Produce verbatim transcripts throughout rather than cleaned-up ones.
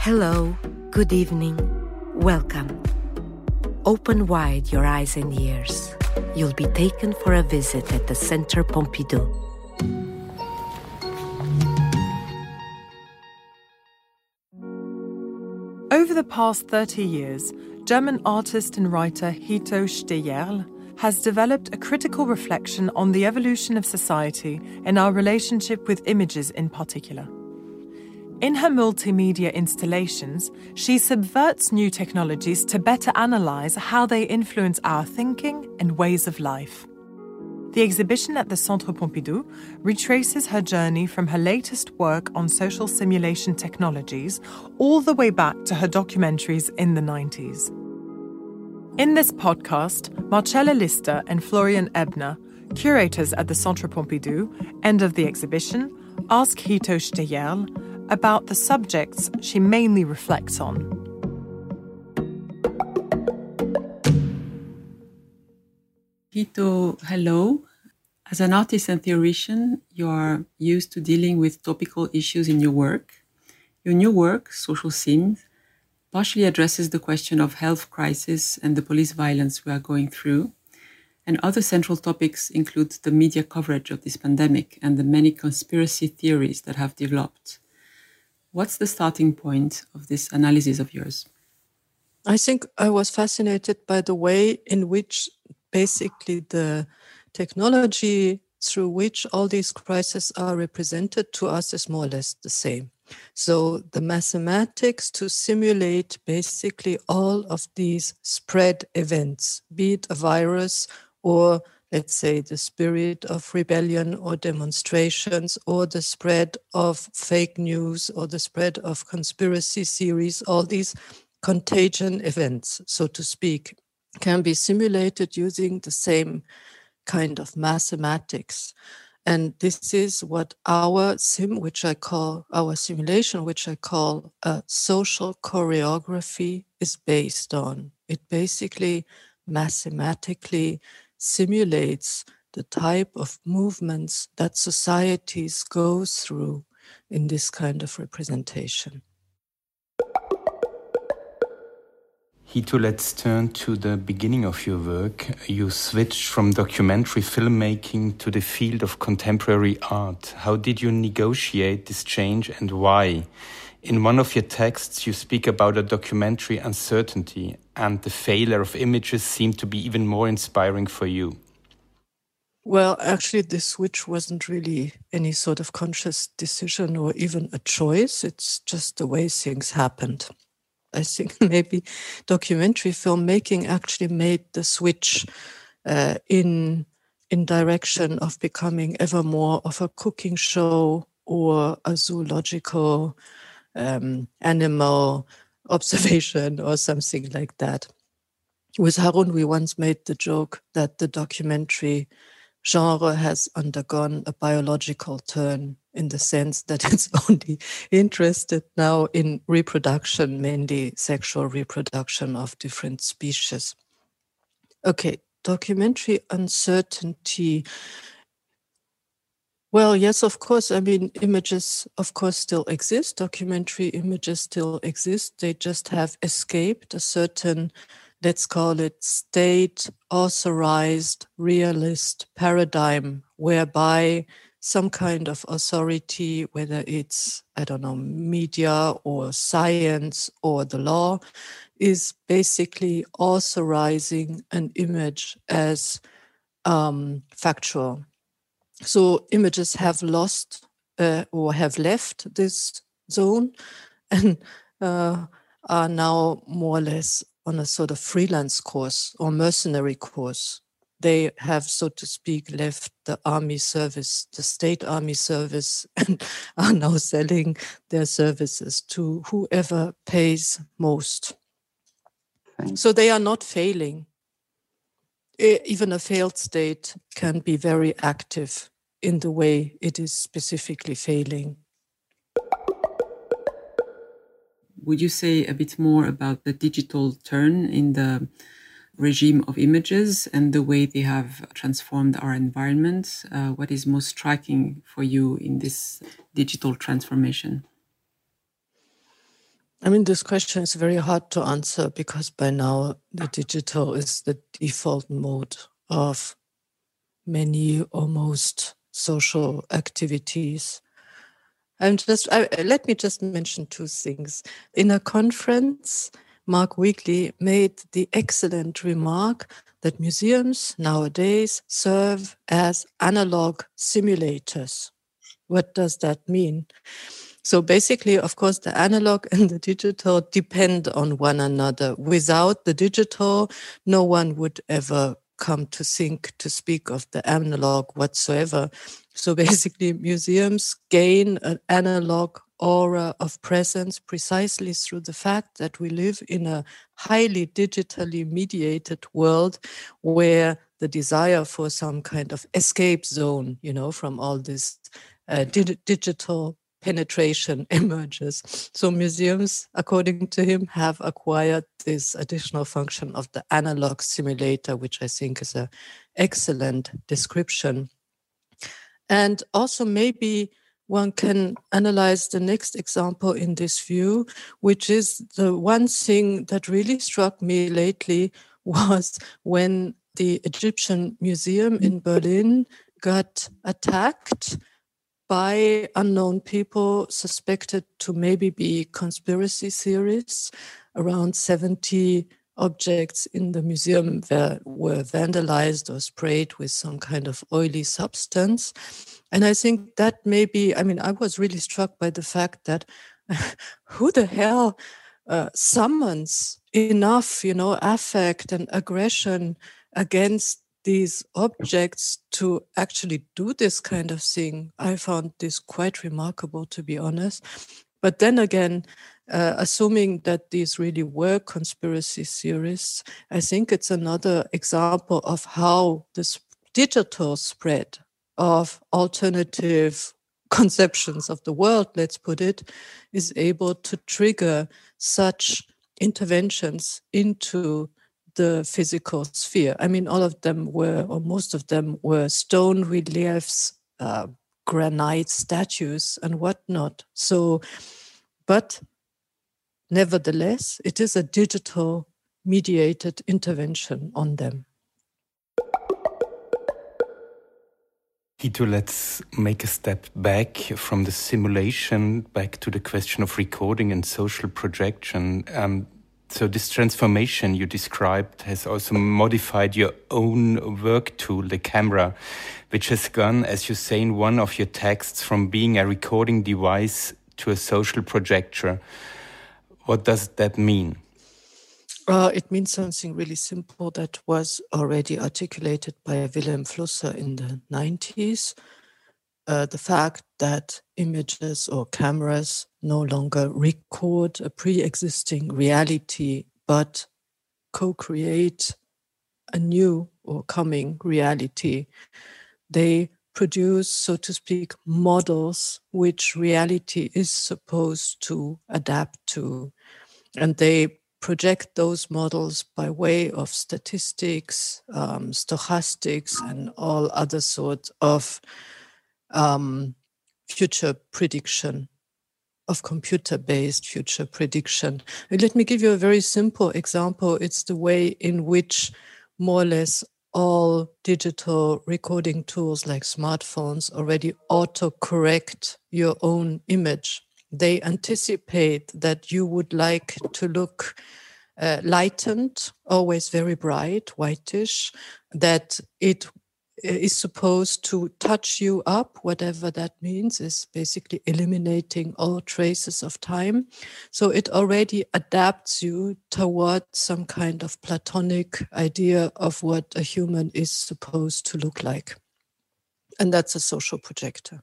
Hello, good evening, welcome. Open wide your eyes and ears. You'll be taken for a visit at the Centre Pompidou. Over the past thirty years, German artist and writer Hito Steyerl has developed a critical reflection on the evolution of society and our relationship with images in particular. In her multimedia installations, she subverts new technologies to better analyse how they influence our thinking and ways of life. The exhibition at the Centre Pompidou retraces her journey from her latest work on social simulation technologies all the way back to her documentaries in the nineties. In this podcast, Marcella Lister and Florian Ebner, curators at the Centre Pompidou, end of the exhibition, ask Hito Steyerl about the subjects she mainly reflects on. Hito, hello. As an artist and theoretician, you are used to dealing with topical issues in your work. Your new work, Social Sims, partially addresses the question of health crisis and the police violence we are going through. And other central topics include the media coverage of this pandemic and the many conspiracy theories that have developed. What's the starting point of this analysis of yours? I think I was fascinated by the way in which basically the technology through which all these crises are represented to us is more or less the same. So the mathematics to simulate basically all of these spread events, be it a virus or let's say the spirit of rebellion or demonstrations or the spread of fake news or the spread of conspiracy theories, all these contagion events, so to speak, can be simulated using the same kind of mathematics. And this is what our sim, which I call our simulation, which I call a social choreography, is based on. It basically mathematically simulates the type of movements that societies go through in this kind of representation. Hito, let's turn to the beginning of your work. You switched from documentary filmmaking to the field of contemporary art. How did you negotiate this change and why? In one of your texts, you speak about a documentary uncertainty, and the failure of images seemed to be even more inspiring for you. Well, actually, this switch wasn't really any sort of conscious decision or even a choice. It's just the way things happened. I think maybe documentary filmmaking actually made the switch uh, in, in direction of becoming ever more of a cooking show or a zoological um, animal observation or something like that. With Harun, we once made the joke that the documentary genre has undergone a biological turn in the sense that it's only interested now in reproduction, mainly sexual reproduction of different species. Okay, documentary uncertainty. Well, yes, of course. I mean, images, of course, still exist. Documentary images still exist. They just have escaped a certain, let's call it, state-authorized realist paradigm, whereby some kind of authority, whether it's, I don't know, media or science or the law, is basically authorizing an image as um, factual. So images have lost uh, or have left this zone and uh, are now more or less on a sort of freelance course or mercenary course. They have, so to speak, left the army service, the state army service, and are now selling their services to whoever pays most. Thanks. So they are not failing. Even a failed state can be very active in the way it is specifically failing. Would you say a bit more about the digital turn in the regime of images and the way they have transformed our environment? Uh, what is most striking for you in this digital transformation? I mean, this question is very hard to answer because by now the digital is the default mode of many almost social activities. I'm just, I, let me just mention two things. In a conference, Mark Weekley made the excellent remark that museums nowadays serve as analog simulators. What does that mean? So basically, of course, the analog and the digital depend on one another. Without the digital, no one would ever come to think to speak of the analog whatsoever. So basically, museums gain an analog aura of presence precisely through the fact that we live in a highly digitally mediated world where the desire for some kind of escape zone, you know, from all this uh, di- digital penetration emerges. So museums, according to him, have acquired this additional function of the analog simulator, which I think is an excellent description. And also maybe one can analyze the next example in this view, which is the one thing that really struck me lately was when the Egyptian Museum in Berlin got attacked by unknown people suspected to maybe be conspiracy theorists. Around seventy objects in the museum were, were vandalized or sprayed with some kind of oily substance. And I think that maybe, I mean, I was really struck by the fact that who the hell uh, summons enough, you know, affect and aggression against these objects to actually do this kind of thing? I found this quite remarkable, to be honest. But then again, uh, assuming that these really were conspiracy theorists, I think it's another example of how this digital spread of alternative conceptions of the world, let's put it, is able to trigger such interventions into the physical sphere. I mean, all of them were, or most of them were stone reliefs, uh, granite statues and whatnot. So, but nevertheless, it is a digital mediated intervention on them. Hito, let's make a step back from the simulation back to the question of recording and social projection. Um, So this transformation you described has also modified your own work tool, the camera, which has gone, as you say in one of your texts, from being a recording device to a social projector. What does that mean? Uh, it means something really simple that was already articulated by Wilhelm Flusser in the nineties. Uh, the fact that images or cameras no longer record a pre-existing reality, but co-create a new or coming reality. They produce, so to speak, models which reality is supposed to adapt to. And they project those models by way of statistics, um, stochastics, and all other sorts of Um, future prediction, of computer-based future prediction. And let me give you a very simple example. It's the way in which more or less all digital recording tools like smartphones already auto-correct your own image. They anticipate that you would like to look uh, lightened, always very bright, whitish, that it is supposed to touch you up, whatever that means, is basically eliminating all traces of time. So it already adapts you towards some kind of Platonic idea of what a human is supposed to look like. And that's a social projector.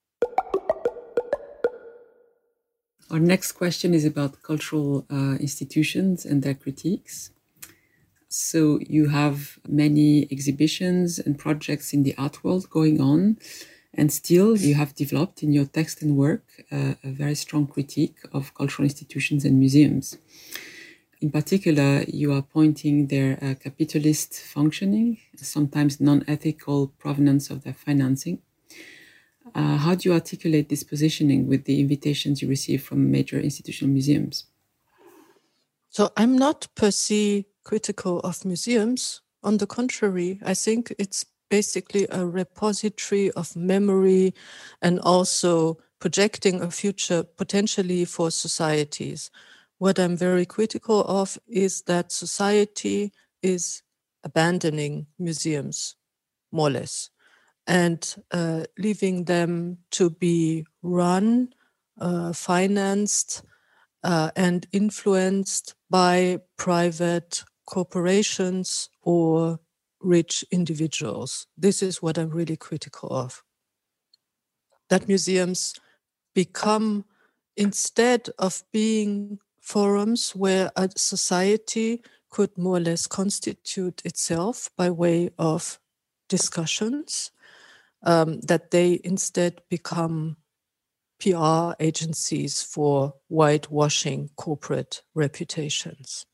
Our next question is about cultural uh, institutions and their critiques. So you have many exhibitions and projects in the art world going on, and still you have developed in your text and work uh, a very strong critique of cultural institutions and museums. In particular, you are pointing their uh, capitalist functioning, sometimes non-ethical provenance of their financing. Uh, how do you articulate this positioning with the invitations you receive from major institutional museums? So I'm not per se critical of museums. On the contrary, I think it's basically a repository of memory and also projecting a future potentially for societies. What I'm very critical of is that society is abandoning museums, more or less, and uh, leaving them to be run, uh, financed, uh, and influenced by private corporations or rich individuals. This is what I'm really critical of. That museums become, instead of being forums where a society could more or less constitute itself by way of discussions, um, that they instead become P R agencies for whitewashing corporate reputations.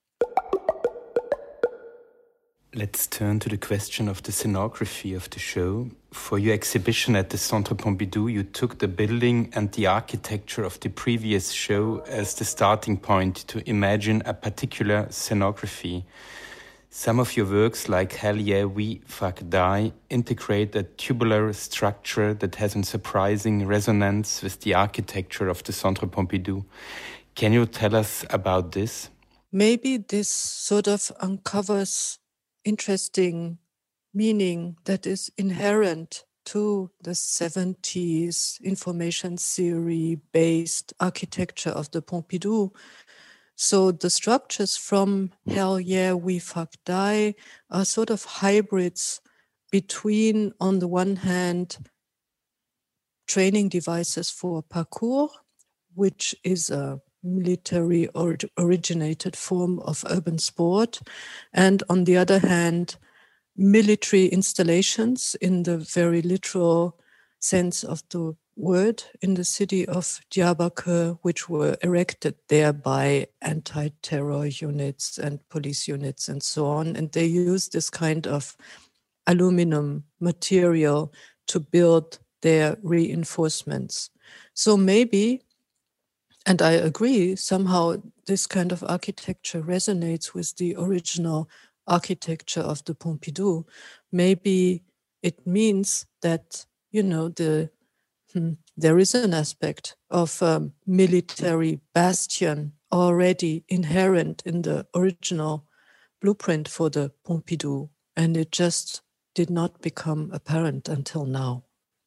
Let's turn to the question of the scenography of the show. For your exhibition at the Centre Pompidou, you took the building and the architecture of the previous show as the starting point to imagine a particular scenography. Some of your works, like Hell Yeah, We Fuck Die, integrate a tubular structure that has a surprising resonance with the architecture of the Centre Pompidou. Can you tell us about this? Maybe this sort of uncovers interesting meaning that is inherent to the seventies information theory based architecture of the Pompidou. So the structures from Hell Yeah, We Fuck Die are sort of hybrids between, on the one hand, training devices for parkour, which is a military or originated form of urban sport, and on the other hand, military installations in the very literal sense of the word in the city of Diyarbakir, which were erected there by anti-terror units and police units and so on. And they use this kind of aluminum material to build their reinforcements. So maybe, and I agree, somehow this kind of architecture resonates with the original architecture of the Pompidou. Maybe it means that, you know, the hmm, there is an aspect of um, military bastion already inherent in the original blueprint for the Pompidou, and it just did not become apparent until now.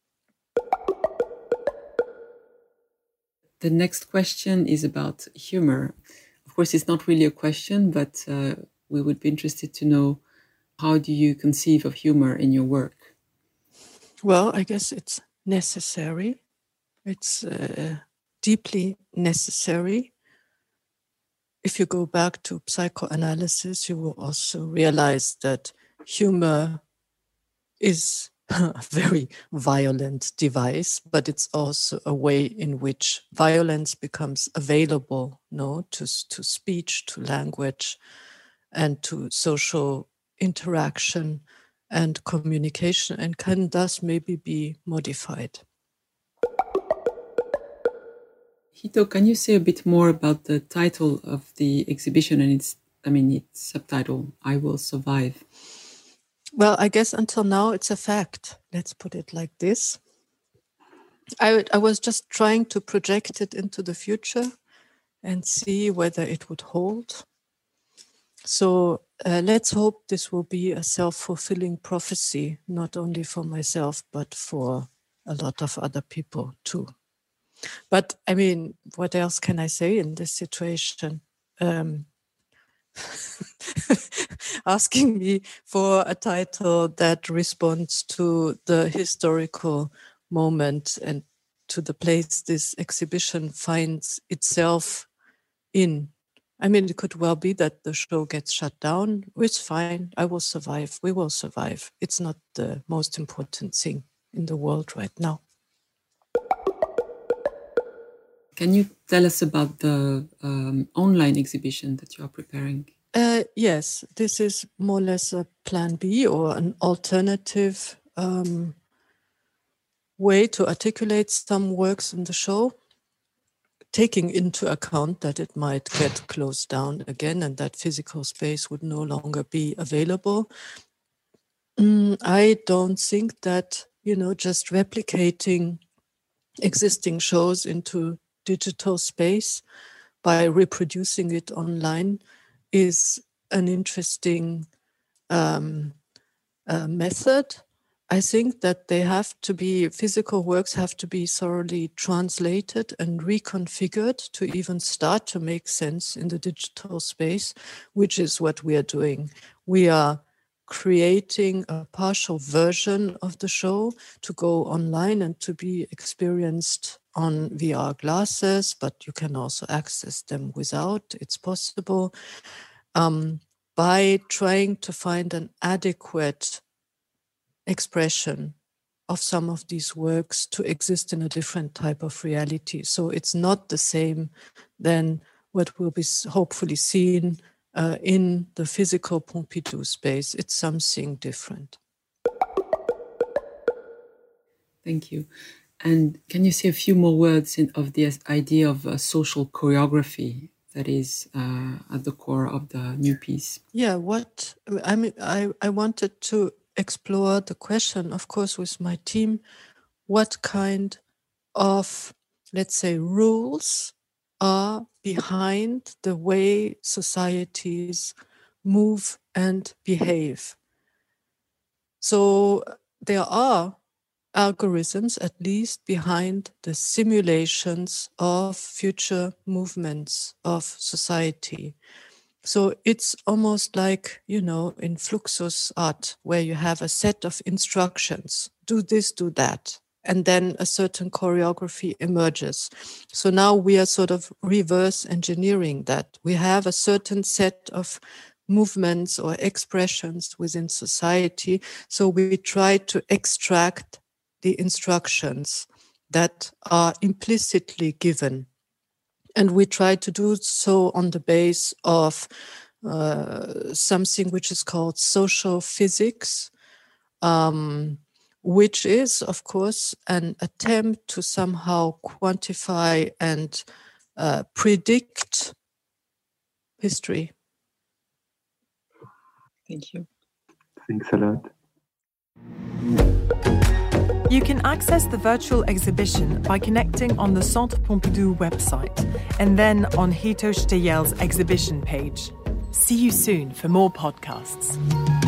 The next question is about humor. Of course, it's not really a question, but uh, we would be interested to know, how do you conceive of humor in your work? Well, I guess it's necessary. It's uh, deeply necessary. If you go back to psychoanalysis, you will also realize that humor is a very violent device, but it's also a way in which violence becomes available, no, to, to speech, to language, and to social interaction and communication, and can thus maybe be modified. Hito, can you say a bit more about the title of the exhibition and its, I mean, its subtitle, I Will Survive? Well, I guess until now it's a fact. Let's put it like this. I, I was just trying to project it into the future and see whether it would hold. So uh, let's hope this will be a self-fulfilling prophecy, not only for myself, but for a lot of other people too. But I mean, what else can I say in this situation? Um, asking me for a title that responds to the historical moment and to the place this exhibition finds itself in. I mean, it could well be that the show gets shut down. It's fine. I will survive. We will survive. It's not the most important thing in the world right now. Can you tell us about the um, online exhibition that you are preparing? Uh, yes, this is more or less a plan B or an alternative um, way to articulate some works in the show. taking into account that it might get closed down again and that physical space would no longer be available. Mm, I don't think that, you know, just replicating existing shows into digital space by reproducing it online is an interesting um, uh, method. I think that they have to be, physical works have to be thoroughly translated and reconfigured to even start to make sense in the digital space, which is what we are doing. We are creating a partial version of the show to go online and to be experienced on V R glasses, but you can also access them without. It's possible. Um, by trying to find an adequate expression of some of these works to exist in a different type of reality. So it's not the same than what will be hopefully seen uh, in the physical Pompidou space. It's something different. Thank you. And can you say a few more words in, of the idea of uh, social choreography that is uh, at the core of the new piece? Yeah, what I mean, I, I wanted to explore the question, of course, with my team, what kind of, let's say, rules are behind the way societies move and behave. So there are algorithms, at least, behind the simulations of future movements of society. So it's almost like, you know, in Fluxus art, where you have a set of instructions, do this, do that, and then a certain choreography emerges. So now we are sort of reverse engineering that. We have a certain set of movements or expressions within society. So we try to extract the instructions that are implicitly given. And we try to do so on the base of uh, something which is called social physics, um, which is, of course, an attempt to somehow quantify and uh, predict history. Thank you. Thanks a lot. You can access the virtual exhibition by connecting on the Centre Pompidou website and then on Hito Steyerl's exhibition page. See you soon for more podcasts.